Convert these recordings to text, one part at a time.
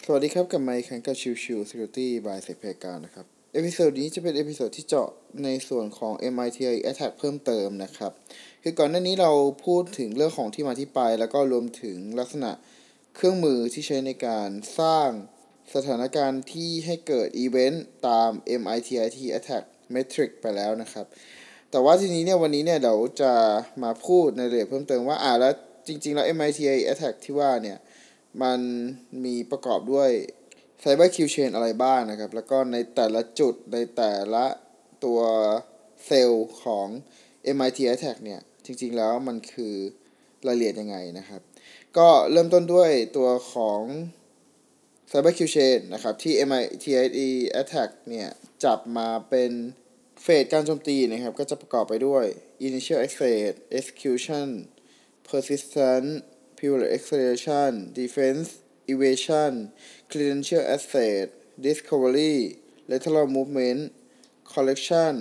สวัสดีครับกับไมค์คังกับชิวชิว Security by เซกเพกานะครับเอพิโซดนี้จะเป็นเอพิโซดที่เจาะในส่วนของ MITI Attack เพิ่มเติมนะครับคือก่อนหน้านี้เราพูดถึงเรื่องของที่มาที่ไปแล้วก็รวมถึงลักษณะเครื่องมือที่ใช้ในการสร้างสถานการณ์ที่ให้เกิดอีเวนต์ตาม MITI Attack Metric ไปแล้วนะครับแต่ว่าทีนี้เนี่ยวันนี้เนี่ยเราจะมาพูดในรายละเอียดเพิ่มเติมว่าแล้วจริงๆแล้ว MITI Attack ที่ว่าเนี่ยมันมีประกอบด้วย Cyber Q Chain อะไรบ้างนะครับแล้วก็ในแต่ละจุดในแต่ละตัวเซลล์ของ MIT Attack เนี่ยจริงๆแล้วมันคือรายละเอียดยังไงนะครับก็เริ่มต้นด้วยตัวของ Cyber Q Chain นะครับที่ MIT Attack เนี่ยจับมาเป็นเฟสการโจมตีนะครับก็จะประกอบไปด้วย Initial Access Execution Persistent Periodic Acceleration Defense Evasion Credential Access Discovery Lateral Movement Collection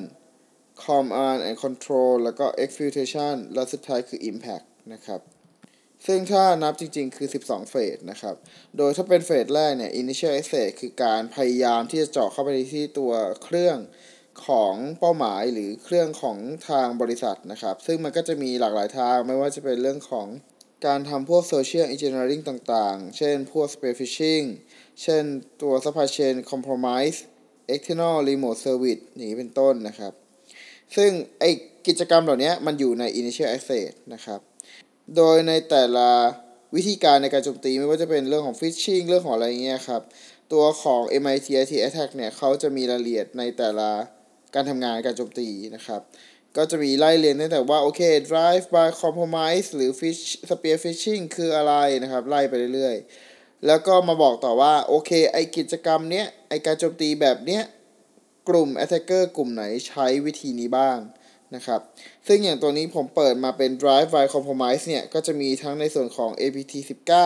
Command and Control แล้วก็ Exfiltration และสุดท้ายคือ Impact นะครับซึ่งถ้านับจริงๆคือ12เฟสนะครับโดยถ้าเป็นเฟสแรกเนี่ย Initial Access คือการพยายามที่จะเจาะเข้าไปที่ตัวเครื่องของเป้าหมายหรือเครื่องของทางบริษัทนะครับซึ่งมันก็จะมีหลากหลายทางไม่ว่าจะเป็นเรื่องของการทำพวก Social Engineering ต่างๆเช่นพวก Spear Phishing เช่นตัว Supply Chain Compromise External Remote Service นี้เป็นต้นนะครับซึ่งไอกิจกรรมเหล่านี้มันอยู่ใน Initial Access นะครับโดยในแต่ละวิธีการในการโจมตีไม่ว่าจะเป็นเรื่องของ Phishing เรื่องของอะไรเงี้ยครับตัวของ MIT Attack เนี่ยเขาจะมีรายละเอียดในแต่ละการทำงานการโจมตีนะครับก็จะมีไล่เรียนตั้งแต่ว่าโอเค drive by compromise หรือ spear phishing คืออะไรนะครับไล่ไปเรื่อยๆแล้วก็มาบอกต่อว่าโอเคไอกิจกรรมเนี้ยไอการโจมตีแบบเนี้ยกลุ่ม attacker กลุ่มไหนใช้วิธีนี้บ้างนะครับซึ่งอย่างตัวนี้ผมเปิดมาเป็น drive by compromise เนี่ยก็จะมีทั้งในส่วนของ APT19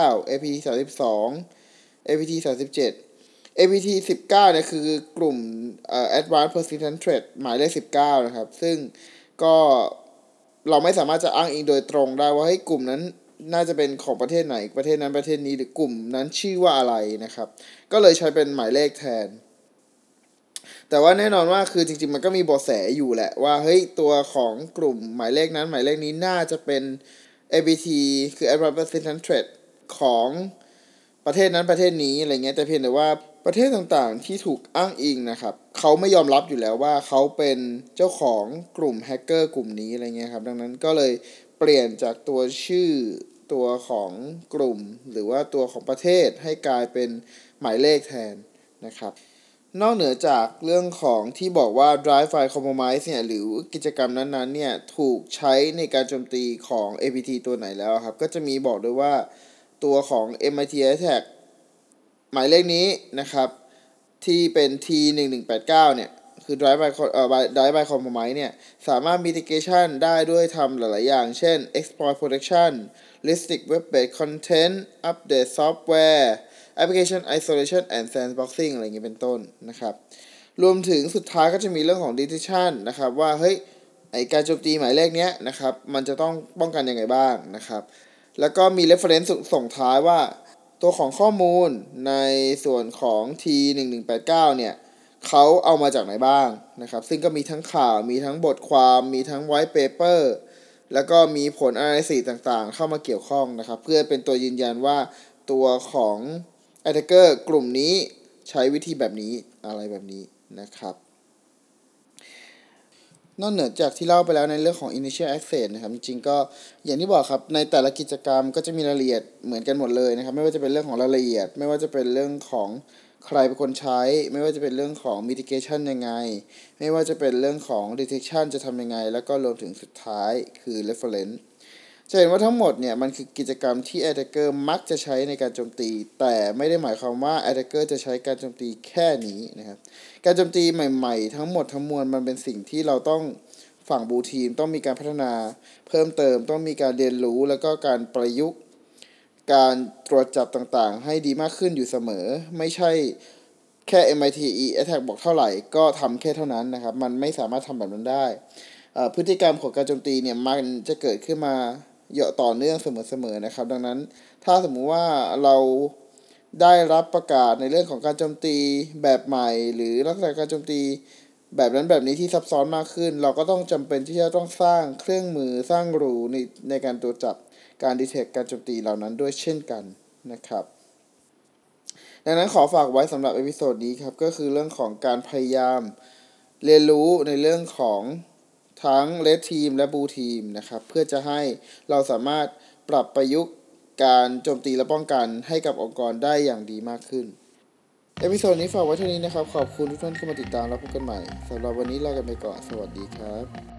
APT32 APT37 APT19 เนี่ยคือกลุ่มAdvanced Persistent Threat หมายเลข19นะครับซึ่งก็เราไม่สามารถจะอ้างอิงโดยตรงได้ว่าให้กลุ่มนั้นน่าจะเป็นของประเทศไหนประเทศนั้นประเทศนี้หรือกลุ่มนั้นชื่อว่าอะไรนะครับก็เลยใช้เป็นหมายเลขแทนแต่ว่าแน่นอนว่าคือจริงๆมันก็มีเบาะแสอยู่แหละว่าเฮ้ยตัวของกลุ่มหมายเลขนั้นหมายเลขนี้น่าจะเป็น APT คือ Advanced Persistent Threat ของประเทศนั้นประเทศนี้อะไรเงี้ยแต่เพียงแต่ว่าประเทศต่างๆที่ถูกอ้างอิงนะครับเขาไม่ยอมรับอยู่แล้วว่าเขาเป็นเจ้าของกลุ่มแฮกเกอร์กลุ่มนี้อะไรเงี้ยครับดังนั้นก็เลยเปลี่ยนจากตัวชื่อตัวของกลุ่มหรือว่าตัวของประเทศให้กลายเป็นหมายเลขแทนนะครับนอกเหนือจากเรื่องของที่บอกว่า drive file compromise เนี่ยหรือกิจกรรมนั้นๆเนี่ยถูกใช้ในการโจมตีของ APT ตัวไหนแล้วครับก็จะมีบอกด้วยว่าตัวของ MIT Attack หมายเลขนี้นะครับที่เป็น T1189 เนี่ยคือ drive by compromise เนี่ยสามารถ mitigation ได้ด้วยทำหลายๆอย่างเช่น exploit protection restrict web based content update software application isolation and sandboxing อะไรอย่างเงี้ยเป็นต้นนะครับรวมถึงสุดท้ายก็จะมีเรื่องของ detection นะครับว่าเฮ้ยไอการโจมตีหมายเลขเนี้ยนะครับมันจะต้องป้องกันยังไงบ้างนะครับแล้วก็มี reference ส่งท้ายว่าตัวของข้อมูลในส่วนของ T1189 เนี่ยเขาเอามาจากไหนบ้างนะครับซึ่งก็มีทั้งข่าวมีทั้งบทความมีทั้ง white paper แล้วก็มีผล analysis ต่างๆเข้ามาเกี่ยวข้องนะครับเพื่อเป็นตัวยืนยันว่าตัวของ attacker กลุ่มนี้ใช้วิธีแบบนี้อะไรแบบนี้นะครับนอกเหนือจากที่เล่าไปแล้วในเรื่องของ initial access นะครับจริงๆก็อย่างที่บอกครับในแต่ละกิจกรรมก็จะมีรายละเอียดเหมือนกันหมดเลยนะครับไม่ว่าจะเป็นเรื่องของรายละเอียดไม่ว่าจะเป็นเรื่องของใครเป็นคนใช้ไม่ว่าจะเป็นเรื่องของ mitigation ยังไงไม่ว่าจะเป็นเรื่องของ detection จะทำยังไงแล้วก็รวมถึงสุดท้ายคือ referenceจะเห็นว่าทั้งหมดเนี่ยมันคือกิจกรรมที่ attacker มักจะใช้ในการโจมตีแต่ไม่ได้หมายความว่า attacker จะใช้การโจมตีแค่นี้นะครับการโจมตีใหม่ๆทั้งหมดทั้งมวลมันเป็นสิ่งที่เราต้องฝั่งบูทีมต้องมีการพัฒนาเพิ่มเติมต้องมีการเรียนรู้แล้วก็การประยุกต์การตรวจจับต่างๆให้ดีมากขึ้นอยู่เสมอไม่ใช่แค่ MITE Attack บอกเท่าไหร่ก็ทำแค่เท่านั้นนะครับมันไม่สามารถทำแบบนั้นได้พฤติกรรมของการโจมตีเนี่ยมันจะเกิดขึ้นมาเยอะต่อเนื่องเสมอๆนะครับดังนั้นถ้าสมมุติว่าเราได้รับประกาศในเรื่องของการโจมตีแบบใหม่หรือลักษณะการโจมตีแบบนั้นแบบนี้ที่ซับซ้อนมากขึ้นเราก็ต้องจำเป็นที่จะต้องสร้างเครื่องมือสร้างรูในการตรวจจับการดีเทคการโจมตีเหล่านั้นด้วยเช่นกันนะครับดังนั้นขอฝากไว้สำหรับเอพิโซดนี้ครับก็คือเรื่องของการพยายามเรียนรู้ในเรื่องของทั้ง Red Team และ Blue Team นะครับเพื่อจะให้เราสามารถปรับประยุกต์การโจมตีและป้องกันให้กับองค์กรได้อย่างดีมากขึ้นเอพิโซดนี้ฝากไว้เท่านี้นะครับขอบคุณทุกท่านที่มาติดตามแล้วพบกันใหม่สำหรับวันนี้ลากันไปก่อนสวัสดีครับ